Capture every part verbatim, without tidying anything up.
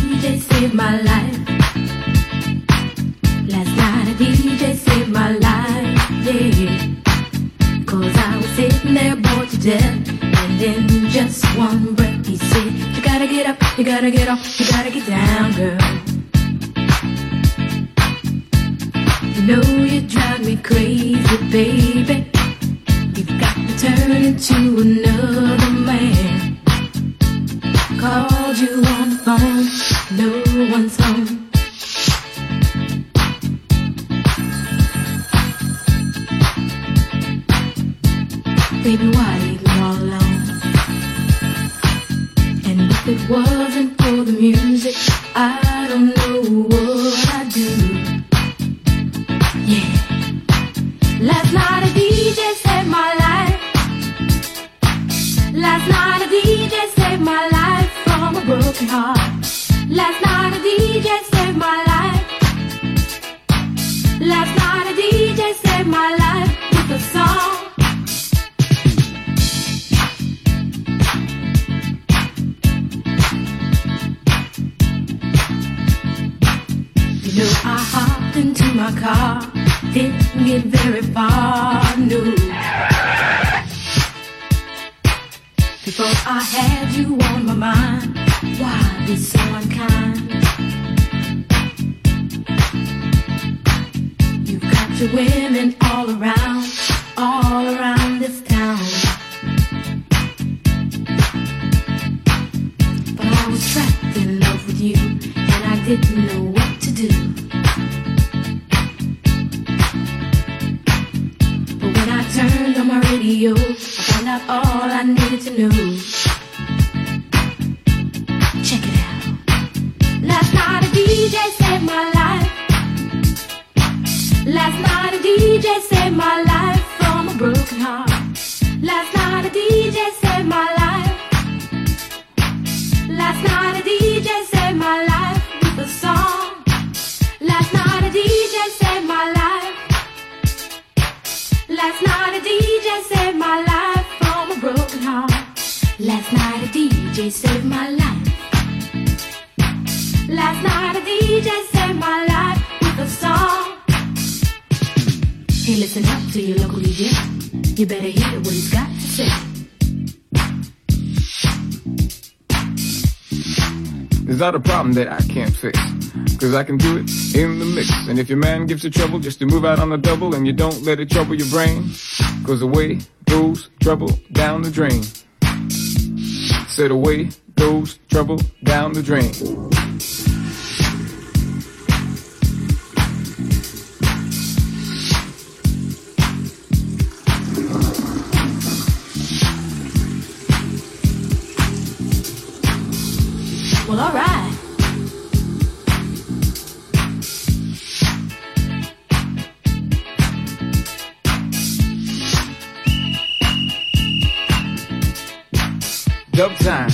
J saved my life. Last night a D J saved my life, yeah. Cause I was sitting there bored to death, and in just one breath he said, you gotta get up, you gotta get off, you gotta get down, girl. You know you drive me crazy, baby. You've got to turn into another man. Called you on the phone, no one's home. Baby, why leave me all alone? And if it wasn't for the music, I don't know what I'd do. Yeah. Last night a D J saved my life. Last night a D J saved my life from a broken heart. Last night a D J saved my life. Last night a D J saved my life with a song. You know I hopped into my car, didn't get very far, no. Before I had you on my mind, why be so unkind? You've got your women all around, all around this town. But I was trapped in love with you, and I didn't know what to do. But when I turned on my radio, I found out all I needed to know. Check it out. Last night a D J saved my life. Last night a D J saved my life from a broken heart. Last night a D J saved my life. Last night a D J saved my life with a song. Last night a D J saved my life. Last night a D J saved my life from a broken heart. Last night a D J saved my life. Last night a D J saved my life with a song. Hey, listen up to your local D J. You better hear what he's got to say. There's not a problem that I can't fix, cause I can do it in the mix. And if your man gives you trouble just to move out on the double, and you don't let it trouble your brain, cause away goes trouble down the drain. Said away goes trouble down the drain. Well, all right. Dub time.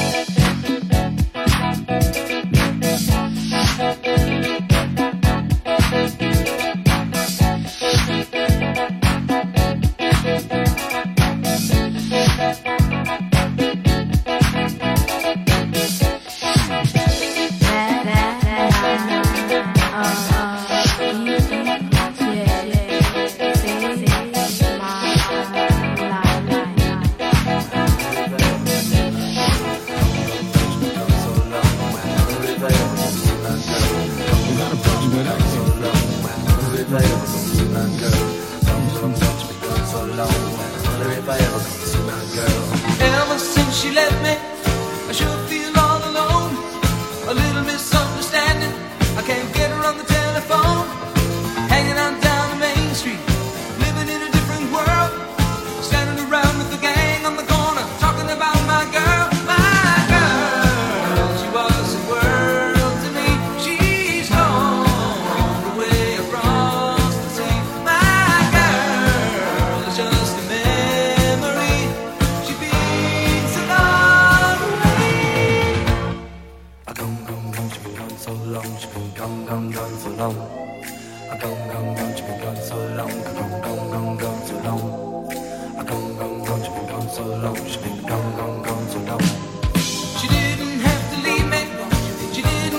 Ever since she left me, I sure feel all alone. A little misunderstanding, I can't get her on the telephone. Hanging out down the main street, living in a different world. Standing around with the gang on the corner, talking about my girl, my girl. She was the world to me. She's gone away across the sea. My girl is just a memory. She beats a long way. I gone, gone, gone, she been gone so long. She been gone, gone, gone so long. I gone, gone, gone, she been gone so long. I gone, gone, gone, gone so long. I gone, gone, gone, she been gone so long. She been gone, gone, gone so long. She didn't have to leave me. She didn't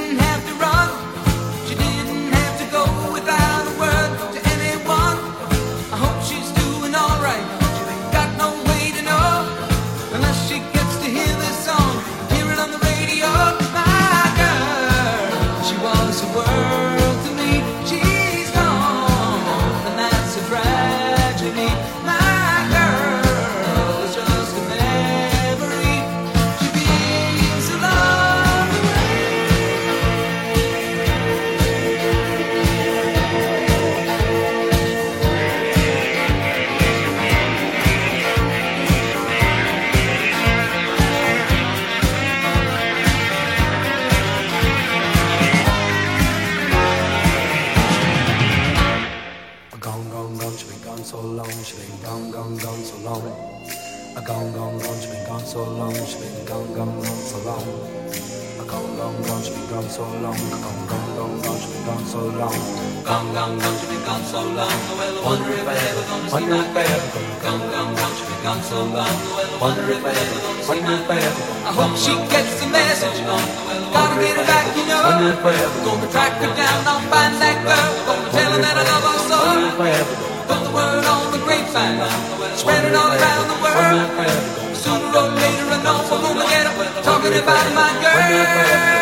so long. Gone, gone, gone, gone, she's been gone so long. Gone, gone, gone, she's been gone so long. Well, I wonder if I ever gonna see my girl. Gone, gone, gone, she's been gone so long. Well, I wonder if I ever gonna see my girl. I hope she gets the message. Gotta get her back, you know. Gonna track her down, I'll find that girl. Gonna tell her that I love her so. Put the word on the grapevine, spread it all around the world. Sooner or later I know I'm gonna get her talking about my girl.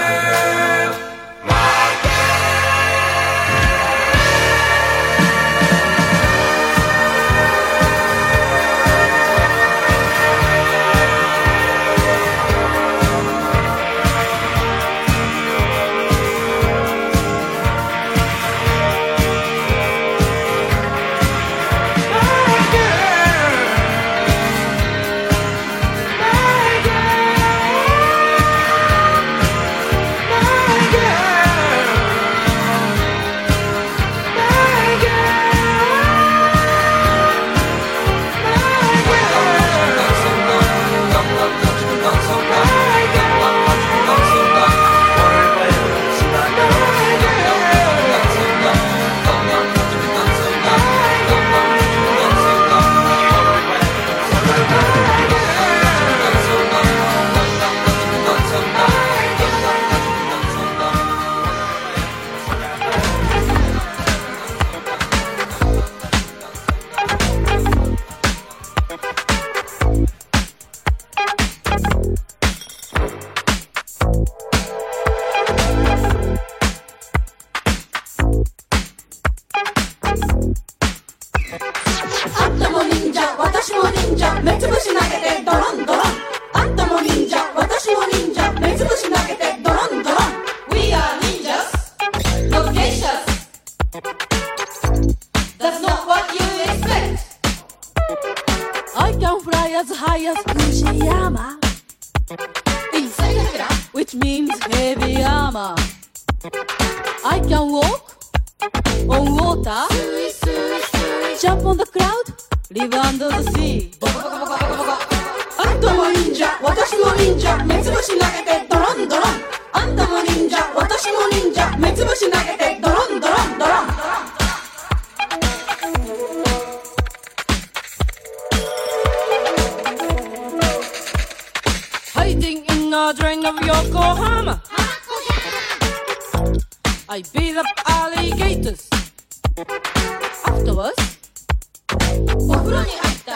I beat up alligators. Afterwards, お風呂に入った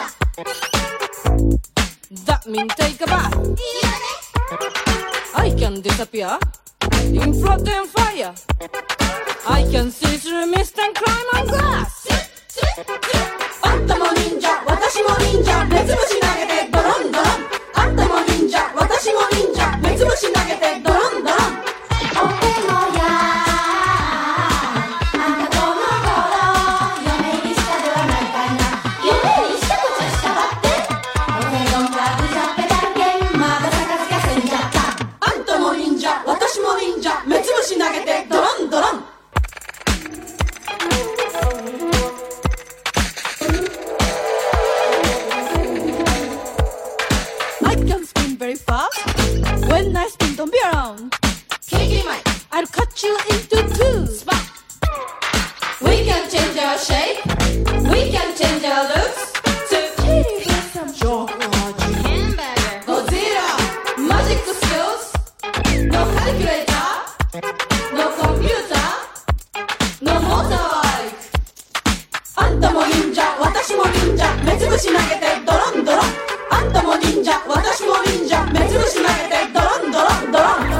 。That means take a bath. いいよね。I can disappear in flood and fire. I can see through mist and climb on glass. あんたも忍者、私も忍者、目つぶし投げてドロンドロン。あんたも忍者、私も忍者、目つぶし投げてドロンドロン。お手のや投げてドロンドロン。I can spin very fast. When I spin, don't be around. I'll cut you into two. Spot. We can change our shape. We can change our looks. Kitty has some chocolate hamburger. Godzilla. Magic skills. No calculator.No computer, no motorbike. あんたも忍者、私も忍者、目つぶし投げてドロンドロン。あんたも忍者、私も忍者、目つぶし投げてドロンドロンドロン。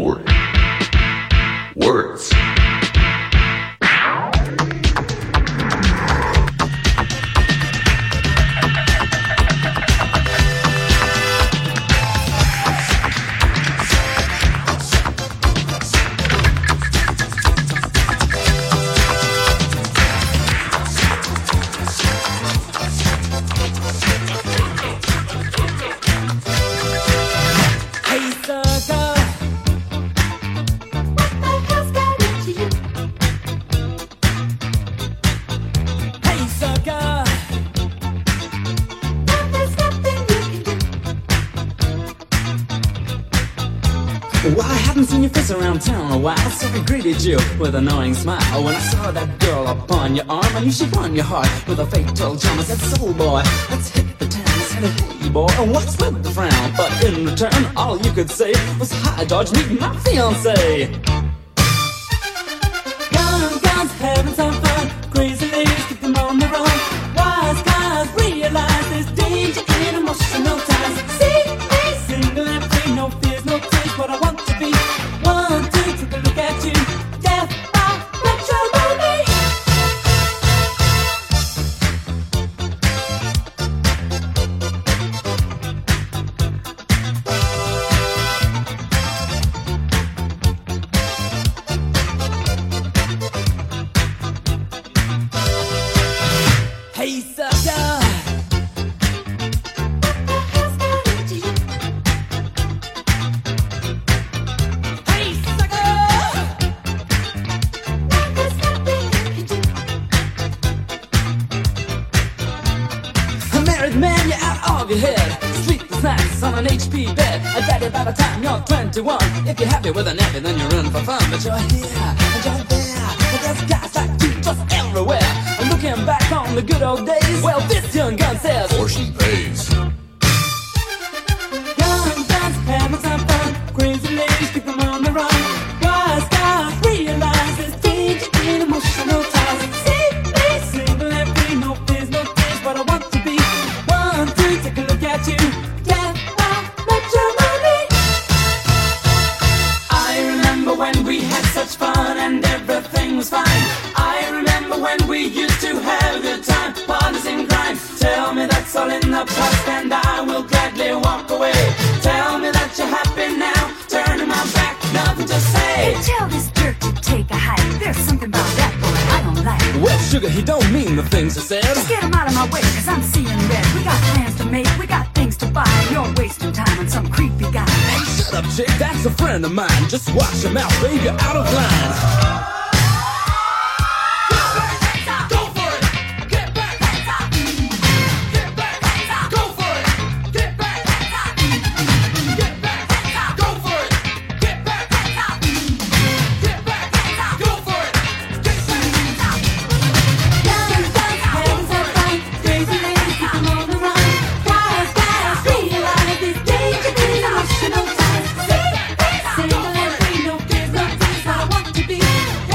Lord. Words. Well, I haven't seen your face around town in a while, so I greeted you with an annoying smile. When I saw that girl upon your arm, I knew she'd won your heart with a fatal charm. I said, soul boy, let's hit the town. I said, hey boy, and what's with the frown? But in return, all you could say was, hi George, meet my fiancé. Young guns having some fun, crazy ladies keep them on the run. Wise guys realize there's danger in emotional ties. See me single and free, no fears, no tears, what I want to be. One, two, take a look at you. Death by matrimony. Hey sucker, hey sucker. A married man, you're out of your head. Sleepless nights on an H P bed. I bet it by the time you're twenty-one. If you're happy with a nappy, then you're in for fun. But you're here and you're there, but there's guys like you just everywhere. And looking back on the good old days, well, this young gun says, Or she pays. young guns having some fun, crazy ladies keep them on the run. Wise guys realize there's danger in emotional ties. See me single and free, no fears, no tears, what I want to be. One, two, take a look at you. Death by matrimony. I remember when we had such fun and everything was fine. I remember when we used to have a good time, partners in crime. Tell me that's all in the past and I will gladly walk away. Tell me that you're happy now, turning my back, nothing to say. Tell this jerk to take a hike. There's something about that boy I don't like. Well, sugar, he don't mean the things he said. Just get him out of my way, cause I'm seeing red. We got plans to make, we got things to buy. You're wasting time on some creepy guy. Hey, shut up, chick, that's a friend of mine. Just watch your mouth, babe, you're out of line. Single and free, no fears, no tears, I want to be.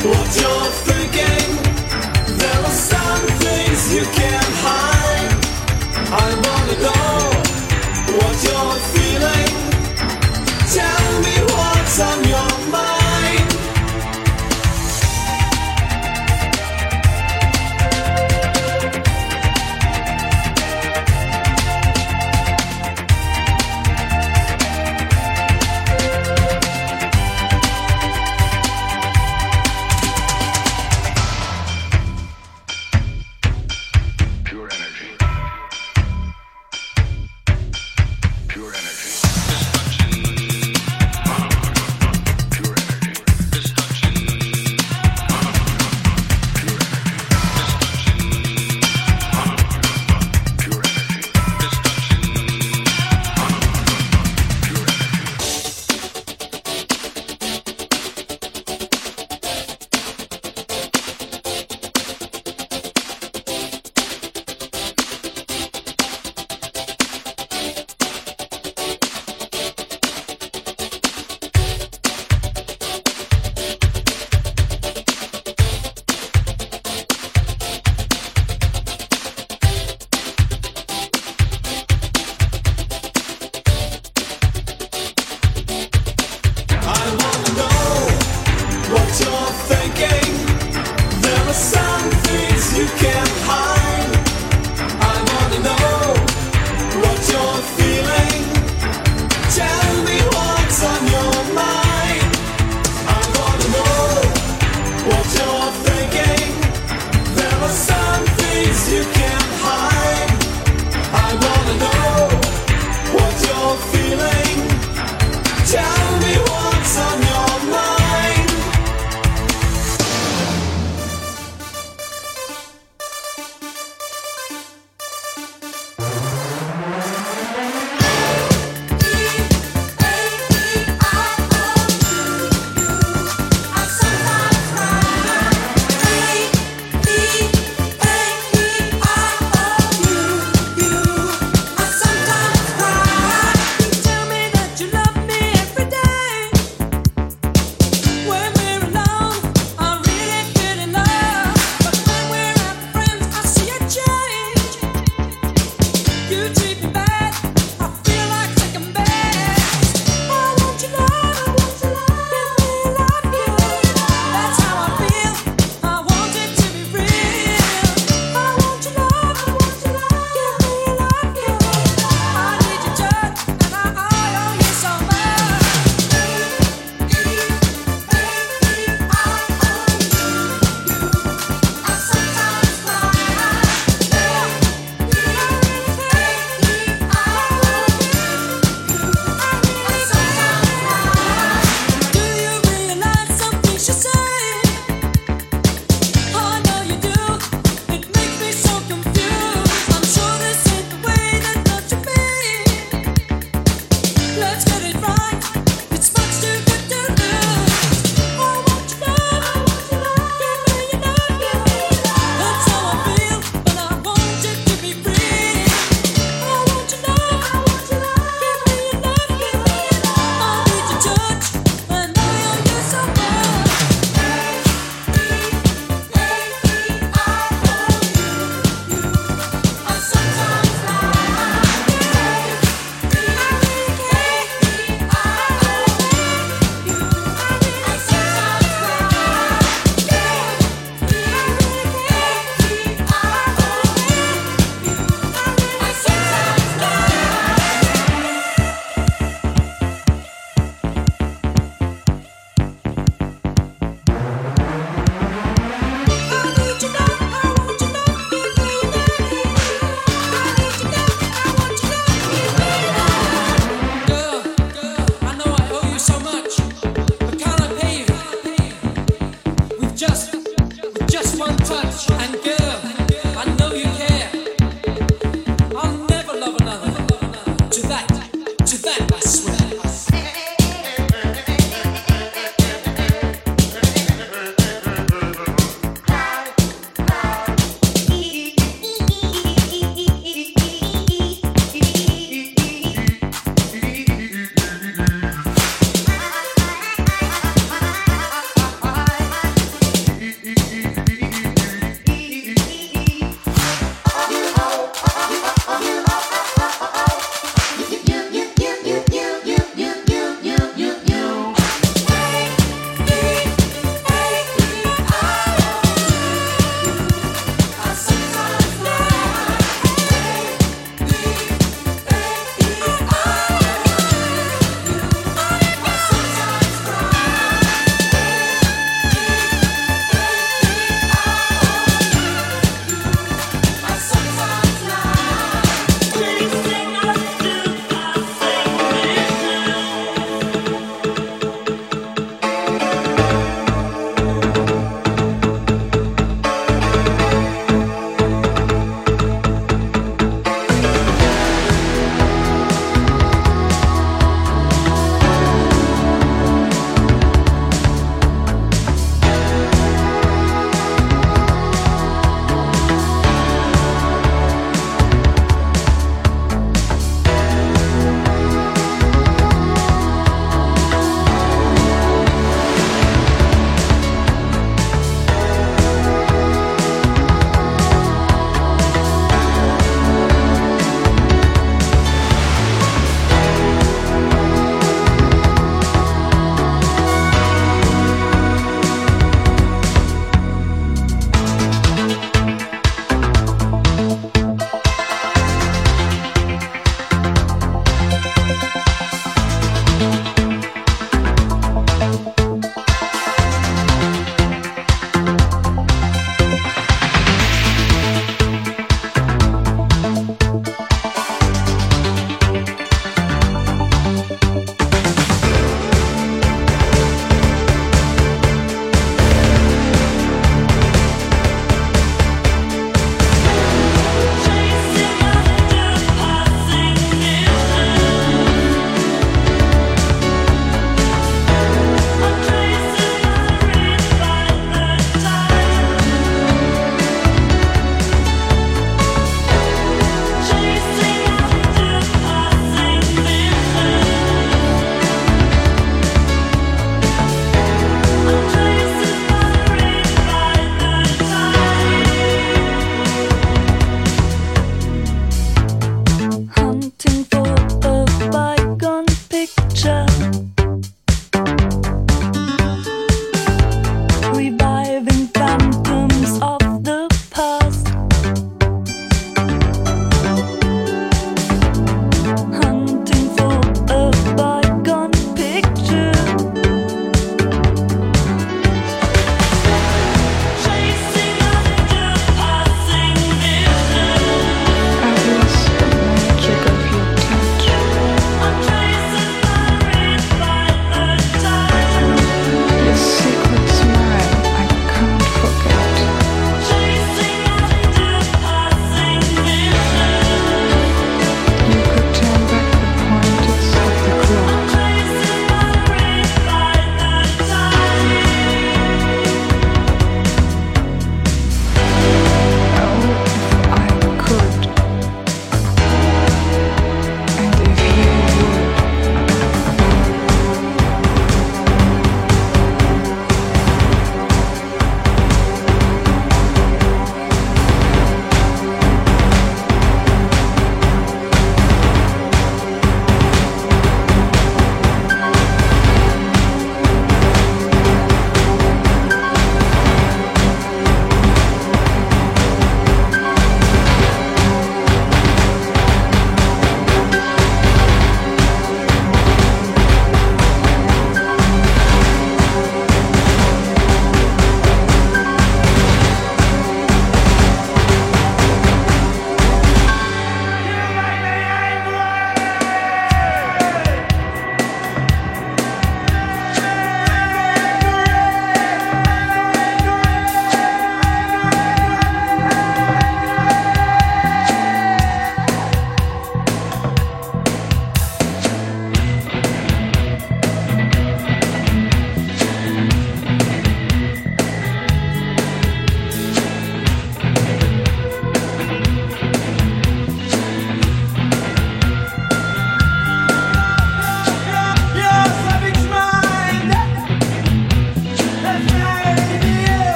what you're thinking. There are some things you can't hide. I wanna know what you're feeling. Tell me what's on your mind.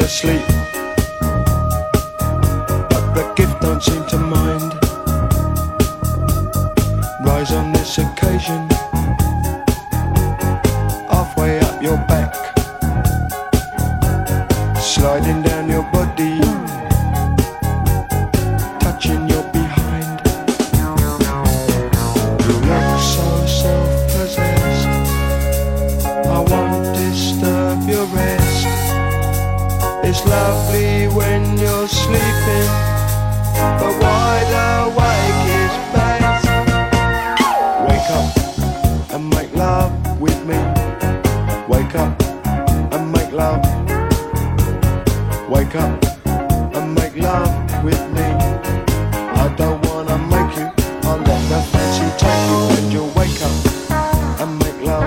asleep, but the gift don't seem to mind. Rise on this occasion, halfway up your back, sliding down your body, touching your behind. You look so self-possessed, I won't disturb your rest. It's lovely when you're sleeping, but wide awake is best. Wake up and make love with me. Wake up and make love. Wake up and make love with me. I don't wanna make you, I'll let the fancy take you, and you'll wake up and make love.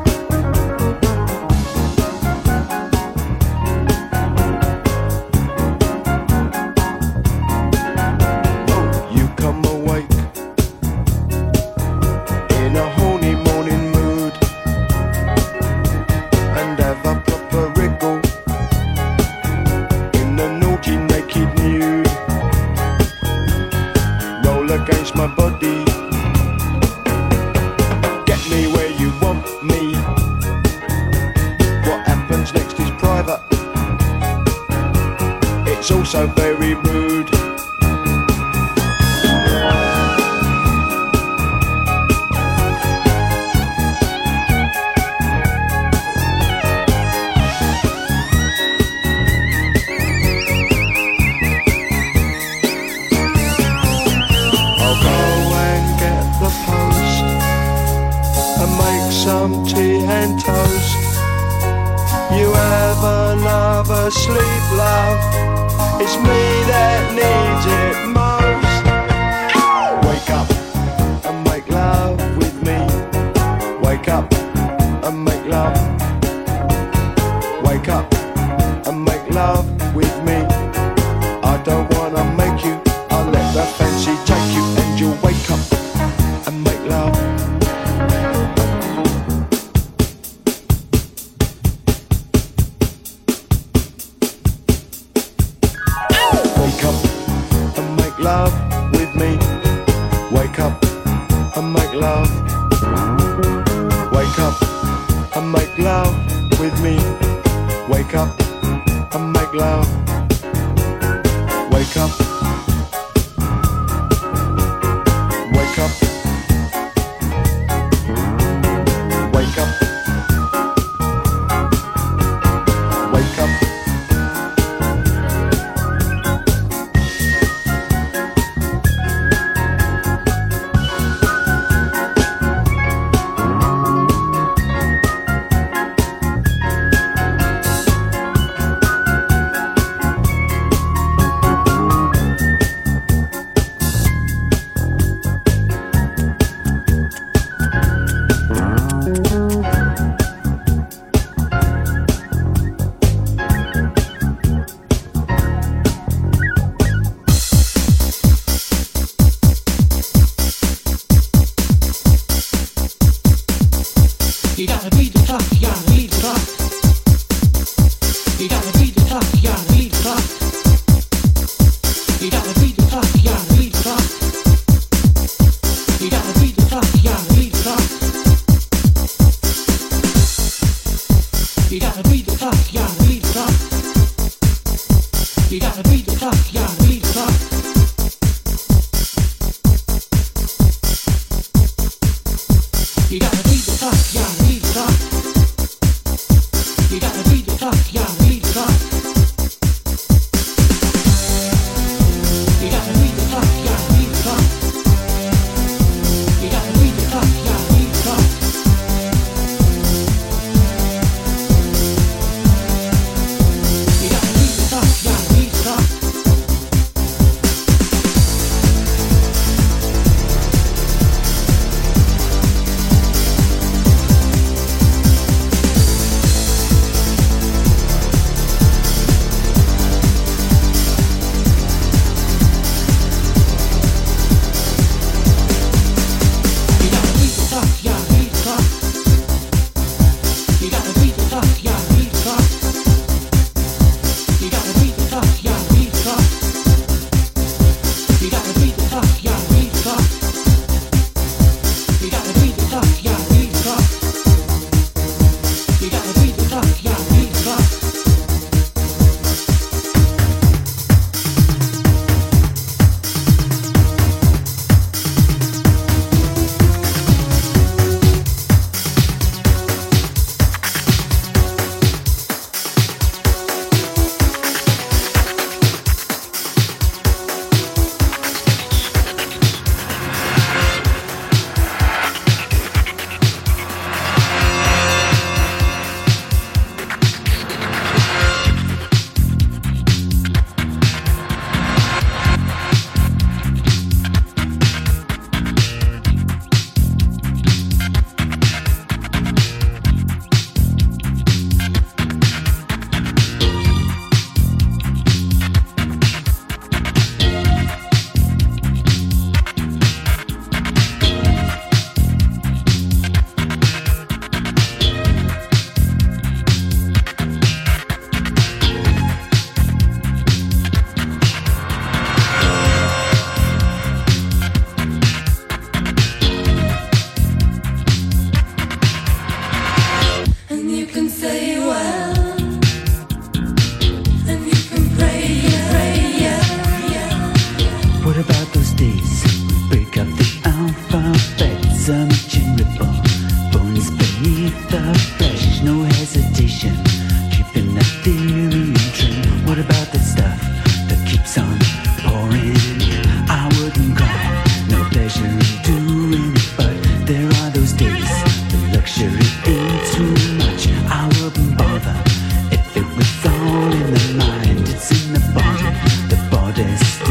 Against my body, get me where you want me. What happens next is private, it's also very rude. Some tea and toast. You have another sleep, love. It's me that needs it most. Wake up and make love with me. Wake up and make love. Wake up and make love with me. I don't wanna make you, I'll let the fancy take you, and you'll wake up and make love. Love with me. Wake up and make love. Wake up and make love with me. Wake up and make love. Wake up. Wake up. Wake up. Wake up.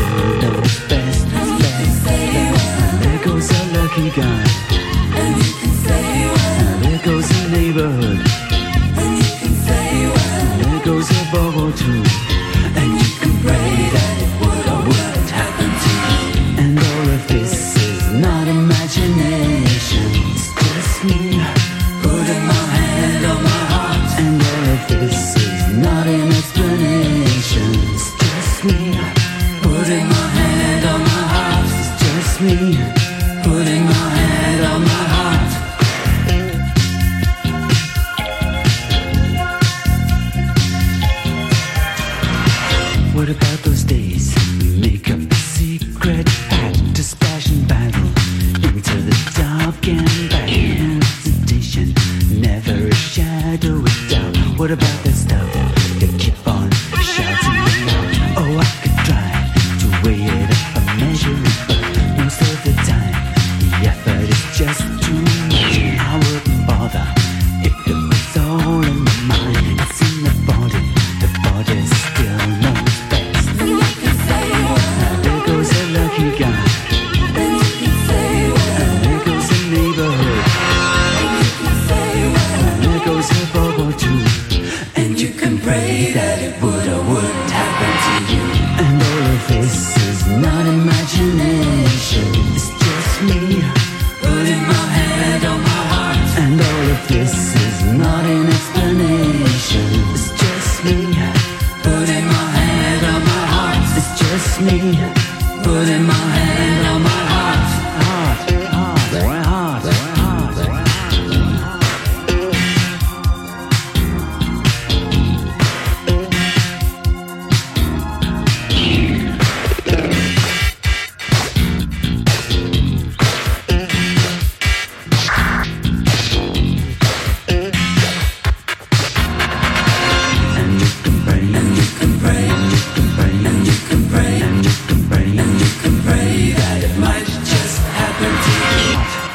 knows best, best. And there goes a lucky guy. And you can say well. And there goes a neighborhood. And you can say well. And there goes a bubble too. And you can pray that it would or wouldn't happen to you. And all of this is not imagination. It's just me putting my hand on my heart. And all of this is not an explanation. It's just me putting my hand on my heart. It's just me putting my hand on my heart. What about those days we make up a secret pact to splash and battle into the dark and back? Hesitation, never a shadow of doubt. What about that stuff you keep on shouting aloud? Oh, I could try to weigh it up and measure it, but most of the time the effort is just too much. I wouldn't bother if it was all in the mind. It's in the body, the body still knows best. Now there goes a lucky guy. And there goes a neighborhood. And there goes a bubble too. And you can pray that it would or wouldn't happen to you. And all of this is not imagination. It's just me putting my hand on my heart. And all of this is not an explanation. It's just me putting my hand on my heart. It's just me putting my hand on my heart. Heart, heart, heart, heart, heart. And you can pray, and you can pray, and you can pray, and you can pray, and you can pray, and you can pray that it might just happen to you.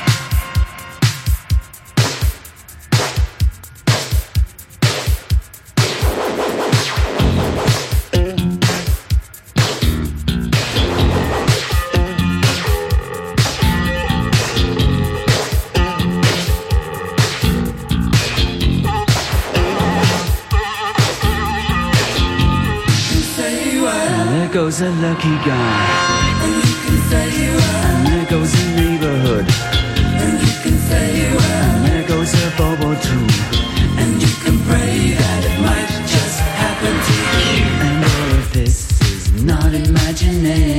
And there goes a lucky guy. And you can say well. And there goes a neighborhood. And you can say well. And there goes a bubble too. And you can pray that it might just happen to you. And all of this is not imagination.